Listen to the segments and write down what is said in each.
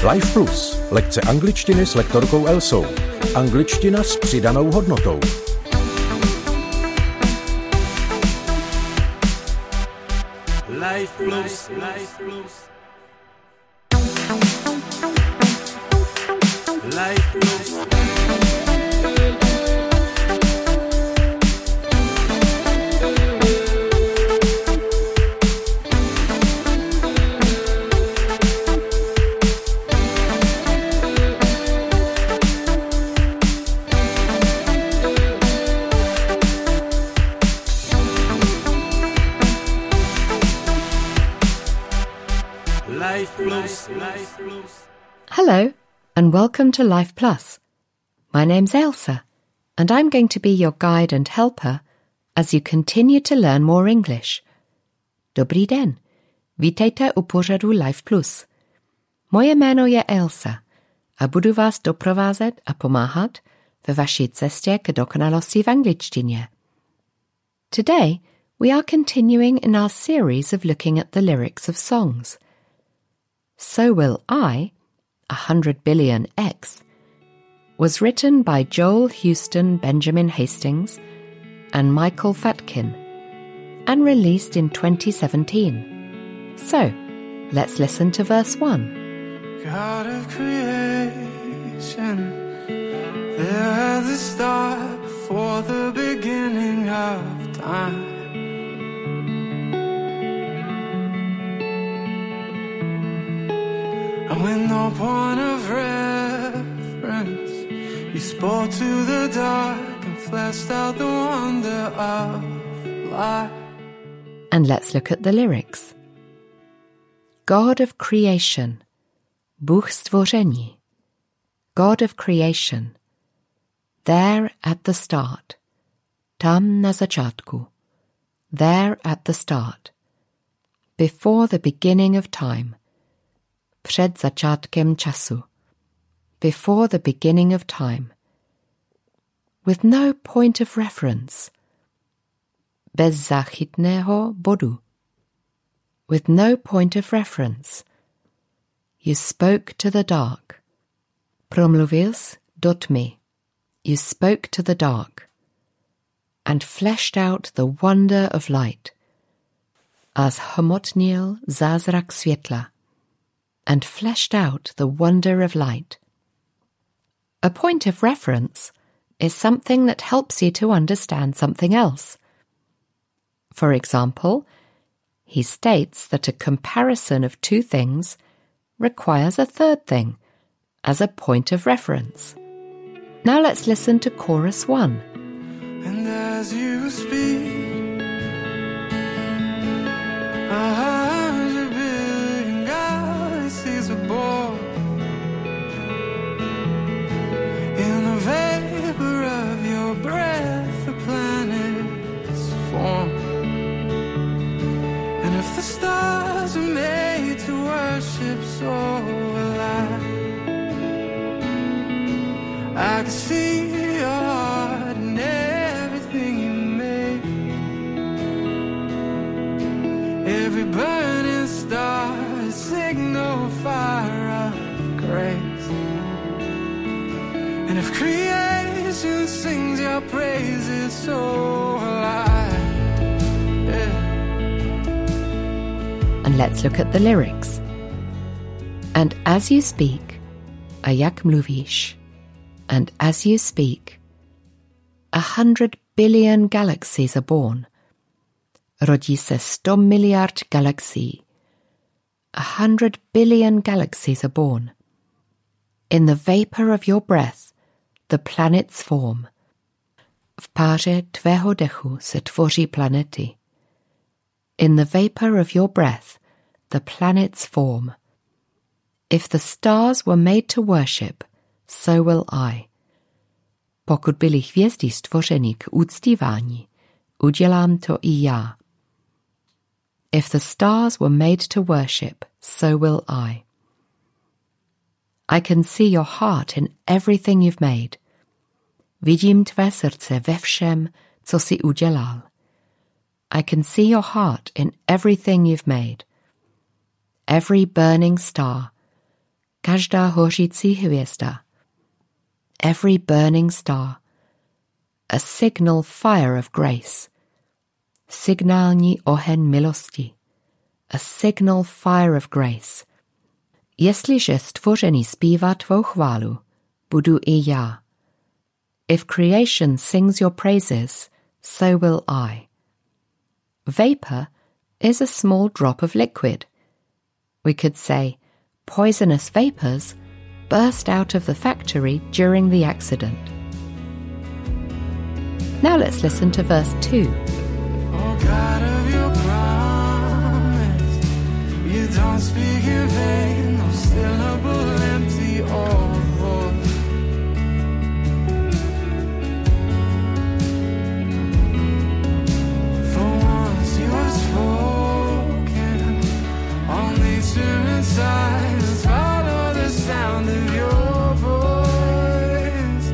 Life Plus. Lekce angličtiny s lektorkou Elsou. Angličtina s přidanou hodnotou. Life Plus. Life Plus. Life Plus. Hello, and welcome to Life Plus. My name's Elsa, and I'm going to be your guide and helper as you continue to learn more English. Dobrý den, vítejte u pořadu Life Plus. Moje jméno je Elsa a budu vás doprovázet a pomáhat ve vaší cestě k dokonalosti v angličtině. Today, we are continuing in our series of looking at the lyrics of songs. So Will I, 100 Billion X, was written by Joel Houston Benjamin Hastings and Michael Fatkin and released in 2017. So, let's listen to verse 1. God of creation, there at the start, before the beginning of time. And with no point of reference, you spoke to the dark and fleshed out the wonder of life. And let's look at the lyrics. God of creation, Bůh stvoření. God of creation, there at the start, tam na začátku, there at the start, before the beginning of time, před začátkem času, before the beginning of time, with no point of reference, bez záchytného bodu, with no point of reference, you spoke to the dark, promluvil jsi do tmy, you spoke to the dark, and fleshed out the wonder of light, a zhmotnil zázrak světla, and fleshed out the wonder of light. A point of reference is something that helps you to understand something else. For example, he states that a comparison of two things requires a third thing as a point of reference. Now let's listen to chorus 1. And as you speak, 100 billion galaxies are born. In the vapor of your breath, the planets form. And if the stars were made to worship, so will I can see your heart in everything you make. Every burning star, a signal fire of grace. And if creation sings your praises, so will I. Yeah. And let's look at the lyrics. And as you speak, a jak mluvíš. And as you speak, 100 billion galaxies are born. Rodí se 100 miliard galaxií. 100 billion galaxies are born. In the vapor of your breath, the planets form. V páře tvého dechu se tvoří planety. In the vapor of your breath, the planets form. If the stars were made to worship, so will I. Pokud byly hvězdy stvořeny k uctívání, udělám to i já. If the stars were made to worship, so will I. I can see your heart in everything you've made. Vidím tvé srdce ve všem, co jsi udělal. I can see your heart in everything you've made. Every burning star, každá hořící hvězda, every burning star, a signal fire of grace, signální oheň milosti, a signal fire of grace. Jestliže stvoření zpívá tvou chválu, budu i já. If creation sings your praises, so will I. Vapor is a small drop of liquid. We could say, poisonous vapors burst out of the factory during the accident. Now let's listen to verse 2. Oh God of your promise, you don't speak in vain, no syllable empty or void. For once you have spoken, all nature and silence follow the sound of your voice.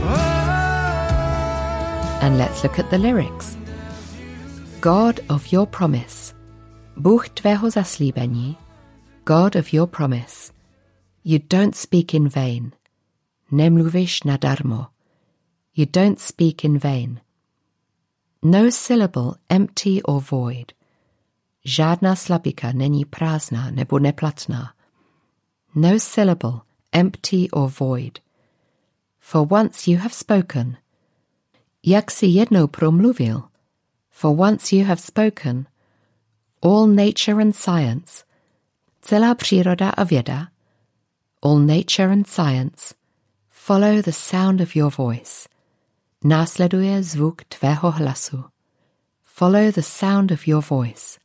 Oh. And let's look at the lyrics. God of your promise, Bůh tvého zaslíbení, God of your promise, you don't speak in vain, nemluvíš nadarmo, you don't speak in vain. No syllable empty or void, žádná slabika není prázdná nebo neplatná. No syllable empty or void. For once you have spoken, jak si jednou promluvil, for once you have spoken, all nature and science, celá příroda a věda, all nature and science, follow the sound of your voice, následuje zvuk tvého hlasu, follow the sound of your voice.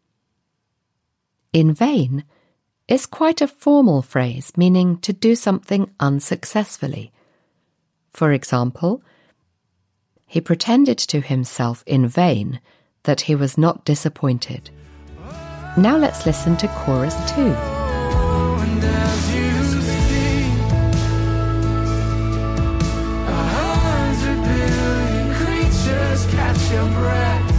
In vain is quite a formal phrase meaning to do something unsuccessfully. For example, he pretended to himself in vain that he was not disappointed. Now let's listen to chorus 2. And as you speak, 100 billion creatures catch your breath,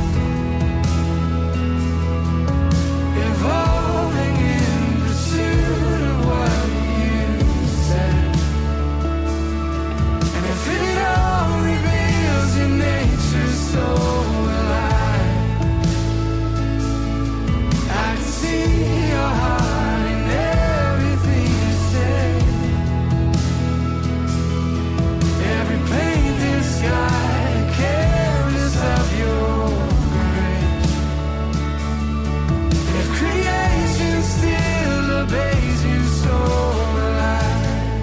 evolving in pursuit of what you said. And if it all reveals your nature, so will I. I can see your heart in everything you say. Every painted sky, careless of your grace. If creation still obeys you, so will I.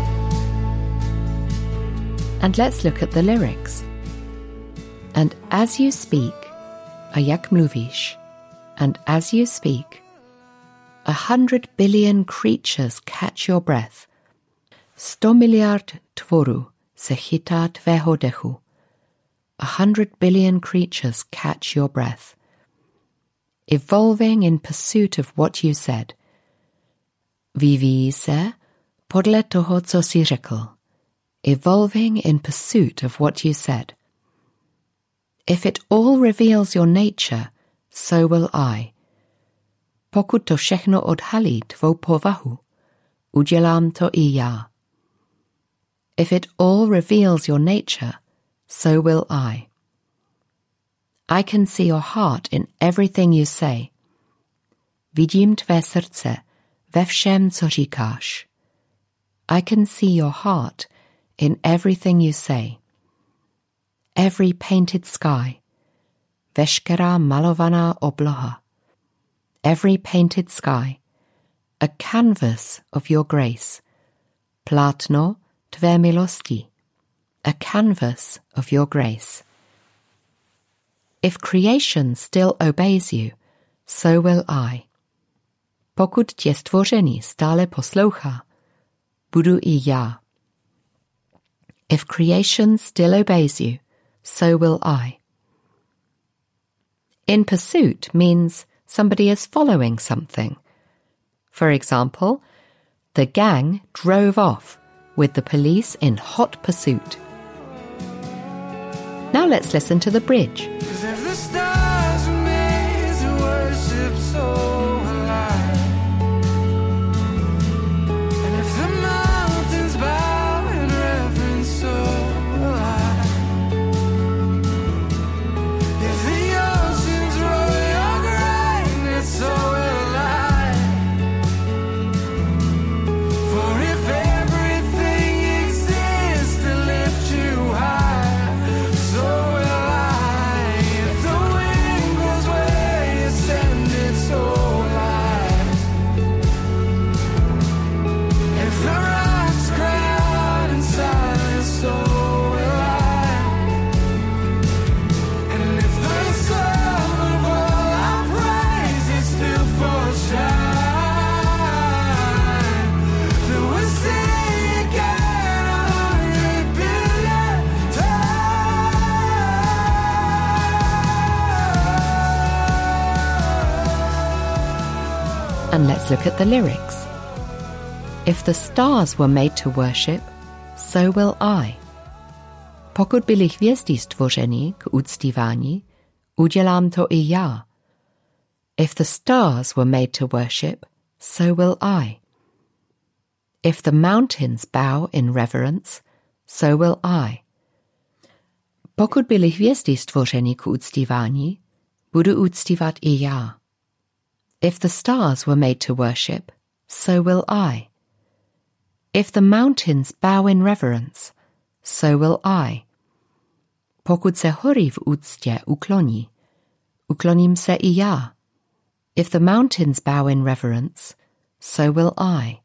And let's look at the lyrics. And as you speak, a jak mluvíš, and as you speak, 100 billion creatures catch your breath. 100 miliard tvorů se chytá tvého dechu. 100 billion creatures catch your breath. Evolving in pursuit of what you said. Vyvíjí se podle toho, co jsi řekl. Evolving in pursuit of what you said. If it all reveals your nature, so will I. Pokud to všechno odhalí tvou povahu, udělám to i já. If it all reveals your nature, so will I. I can see your heart in everything you say. Vidím tvé srdce ve všem, co říkáš. I can see your heart in everything you say. Every painted sky, veškerá malovaná obloha. Every painted sky, a canvas of your grace. Plátno tvé milosti, a canvas of your grace. If creation still obeys you, so will I. Pokud tě stvoření stále poslouchá, budu i já. If creation still obeys you, so will I. In pursuit means somebody is following something. For example, the gang drove off with the police in hot pursuit. Now let's listen to the bridge. 'Cause if the stars were made to worship, so will I. And if the And let's look at the lyrics. If the stars were made to worship, so will I. Pokud byly hvězdy stvořeny k uctívání, udělám to i já. If the stars were made to worship, so will I. If the mountains bow in reverence, so will I. Pokud byly hvězdy stvořeny k uctívání, budu uctívat i já. If the stars were made to worship, so will I. If the mountains bow in reverence, so will I. Pokud se hory v úctě ukloní, ukloním se i já. If the mountains bow in reverence, so will I.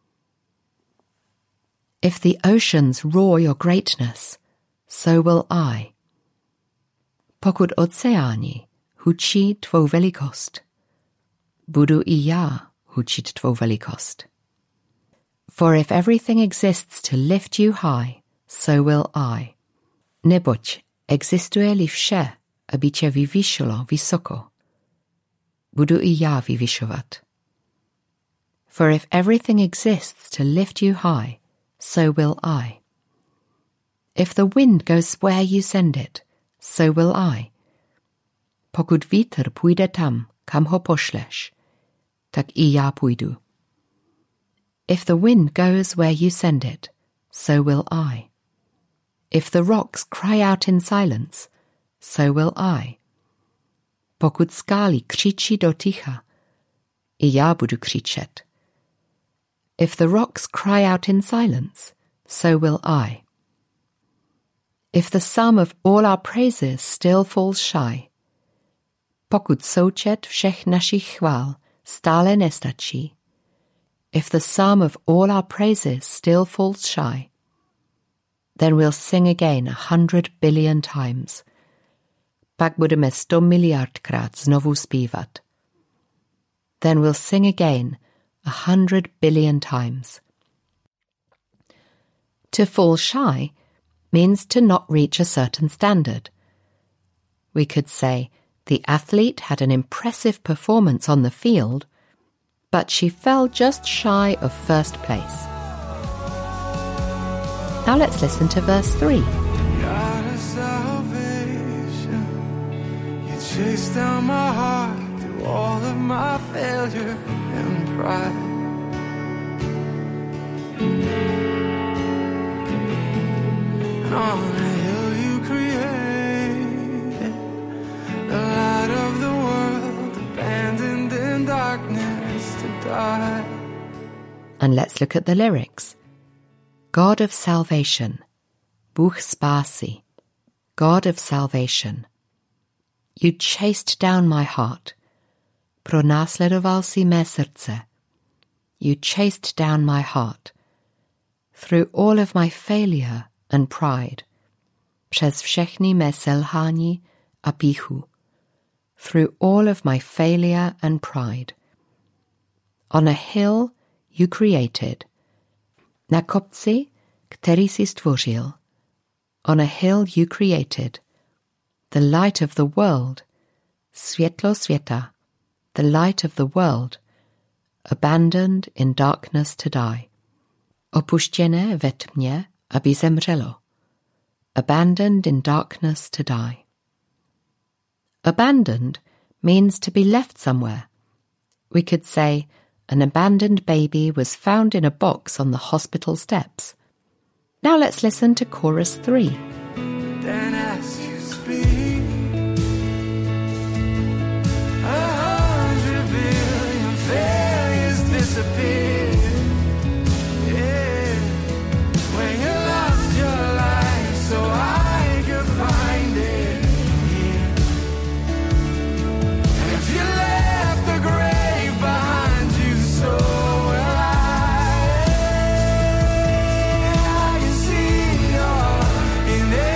If the oceans roar your greatness, so will I. Pokud oceány hučí tvou velikost, budu i já hučit tvou velikost. For if everything exists to lift you high, so will I. Neboť existuje-li vše, aby tě vyvýšilo vysoko, budu i já vyvyšovat. For if everything exists to lift you high, so will I. If the wind goes where you send it, so will I. Pokud vítr půjde tam, kam ho pošleš, tak i já půjdu. If the wind goes where you send it, so will I. If the rocks cry out in silence, so will I. Pokud skály křičí do ticha, i já budu křičet. If the rocks cry out in silence, so will I. If the sum of all our praises still falls shy, pokud součet všech našich chvál stále nestačí, if the sum of all our praises still falls shy, then we'll sing again 100 billion times. Pak budeme 100 miliardkrát znovu zpívat. Then we'll sing again 100 billion times. To fall shy means to not reach a certain standard. We could say the athlete had an impressive performance on the field, but she fell just shy of first place. Now let's listen to verse 3. God of salvation, you chased down my heart through all of my failure and pride. And on a hill you created, the light of the world, abandoned in darkness to die. And let's look at the lyrics. God of salvation, Bůh spásy, God of salvation. You chased down my heart, pronásledoval si mé srdce. You chased down my heart, through all of my failure and pride, přes všechny mé selhání a pýchu, through all of my failure and pride. On a hill you created, na kopci, který si stvořil. On a hill you created, the light of the world, světlo světa, the light of the world, abandoned in darkness to die. Opuštěné ve tmě, aby zemřelo. Abandoned in darkness to die. Abandoned means to be left somewhere. We could say, an abandoned baby was found in a box on the hospital steps. Now let's listen to chorus 3. Then as you speak, 100 billion failures disappear. Yeah, when you lost your life so I could find it. Yeah, and if you left the grave behind you, so will I. I can see you're in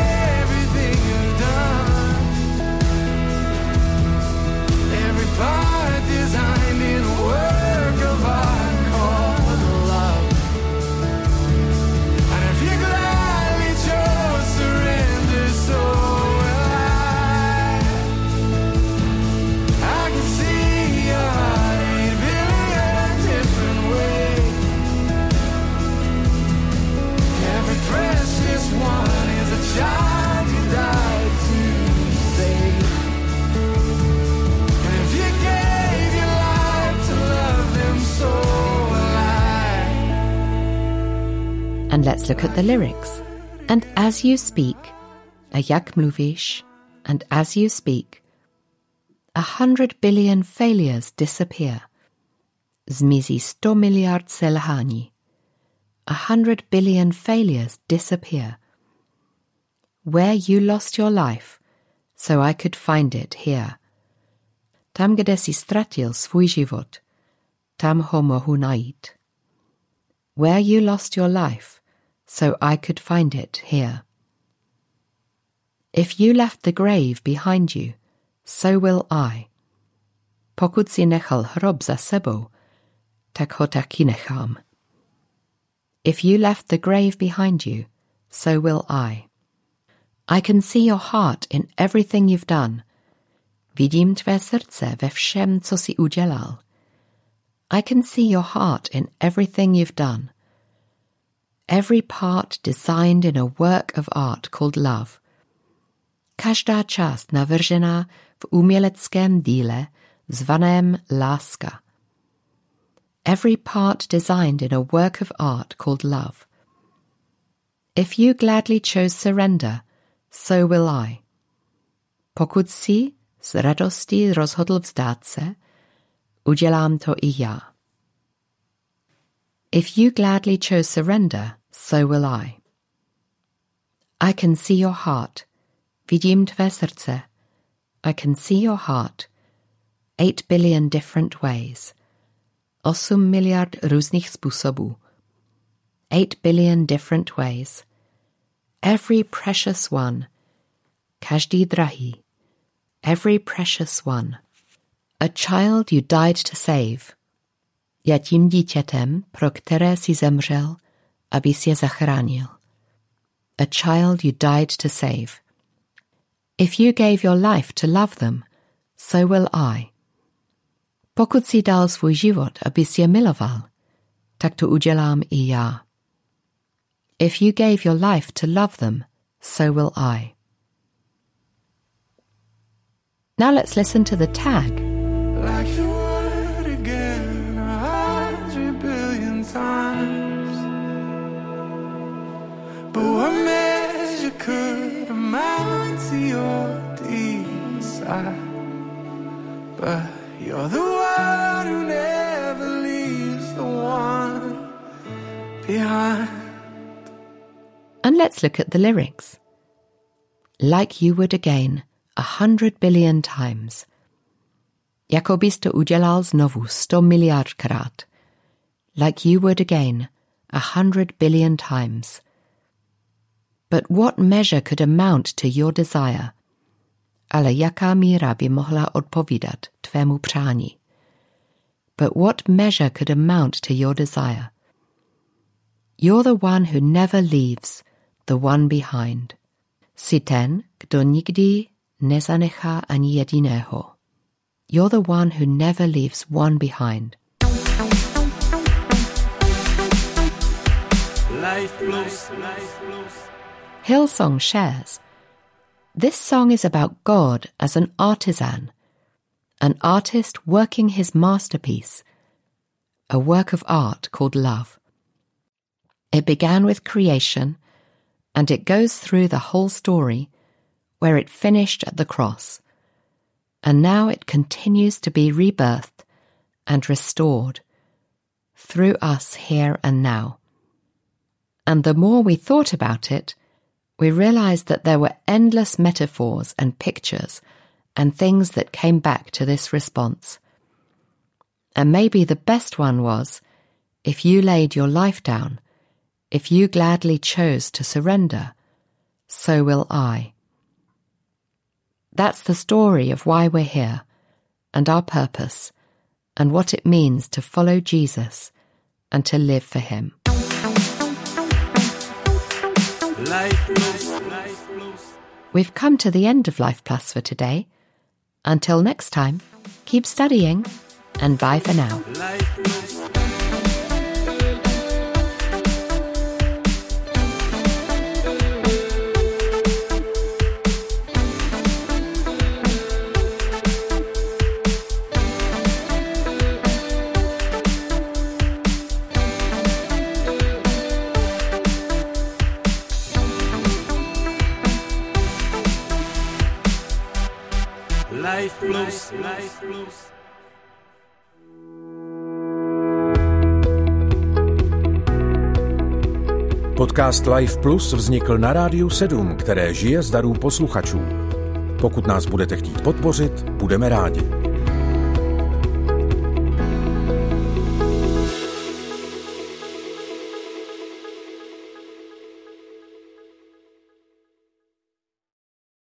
And let's look at the lyrics. And as you speak, a jak mluvíš, and as you speak, 100 billion failures disappear. Zmizí 100 miliard selhání. 100 billion failures disappear. Where you lost your life, so I could find it here. Tam, kde si ztratil svůj život, tam ho mohu najít. Where you lost your life, so I could find it here. If you left the grave behind you, so will I. Pokud si nechal hrob za sebou, tak ho taky nechám. If you left the grave behind you, so will I. I can see your heart in everything you've done. Vidím tvé srdce ve všem, co jsi udělal. I can see your heart in everything you've done. Every part designed in a work of art called love. Každá část navržená v uměleckém díle zvaném láska. Every part designed in a work of art called love. If you gladly chose surrender, so will I. Pokud si s radostí rozhodl vzdát se, udělám to i já. If you gladly chose surrender, so will I. I can see your heart. Vidím tvé srdce. I can see your heart. 8 billion different ways. 8 miliard různých způsobů. 8 billion different ways. Every precious one. Každý drahý. Every precious one. A child you died to save. Já tím dítětem, pro které si zemřel, abys je zachránil. A child you died to save. If you gave your life to love them, so will I. Pokud si dal svůj život, abys je miloval, tak to udělám i já. If you gave your life to love them, so will I. Now let's listen to the tag. Like you would again 100 billion times. But what measure could amount to your desire? But you're the one who never leaves the one behind. And let's look at the lyrics. Like you would again 100 billion times. Jako bys to udělal znovu 100 miliardkrát. Like you would again 100 billion times. But what measure could amount to your desire? Ale jaká míra by mohla odpovídat tvému přání? But what measure could amount to your desire? You're the one who never leaves, the one behind. Jsi ten, kdo nikdy nezanechá ani jediného. You're the one who never leaves one behind. Life blues, life blues. Hillsong shares, this song is about God as an artisan, an artist working his masterpiece, a work of art called love. It began with creation, and it goes through the whole story, where it finished at the cross, and now it continues to be rebirthed and restored through us here and now. And the more we thought about it, we realized that there were endless metaphors and pictures and things that came back to this response. And maybe the best one was, if you laid your life down, if you gladly chose to surrender, so will I. That's the story of why we're here, and our purpose, and what it means to follow Jesus and to live for him. Life blues, life blues. We've come to the end of Life Plus for today. Until next time, keep studying, and bye for now. Life blues. Life Plus, Life Plus. Podcast Life Plus vznikl na Rádiu 7, které žije z darů posluchačů. Pokud nás budete chtít podpořit, budeme rádi.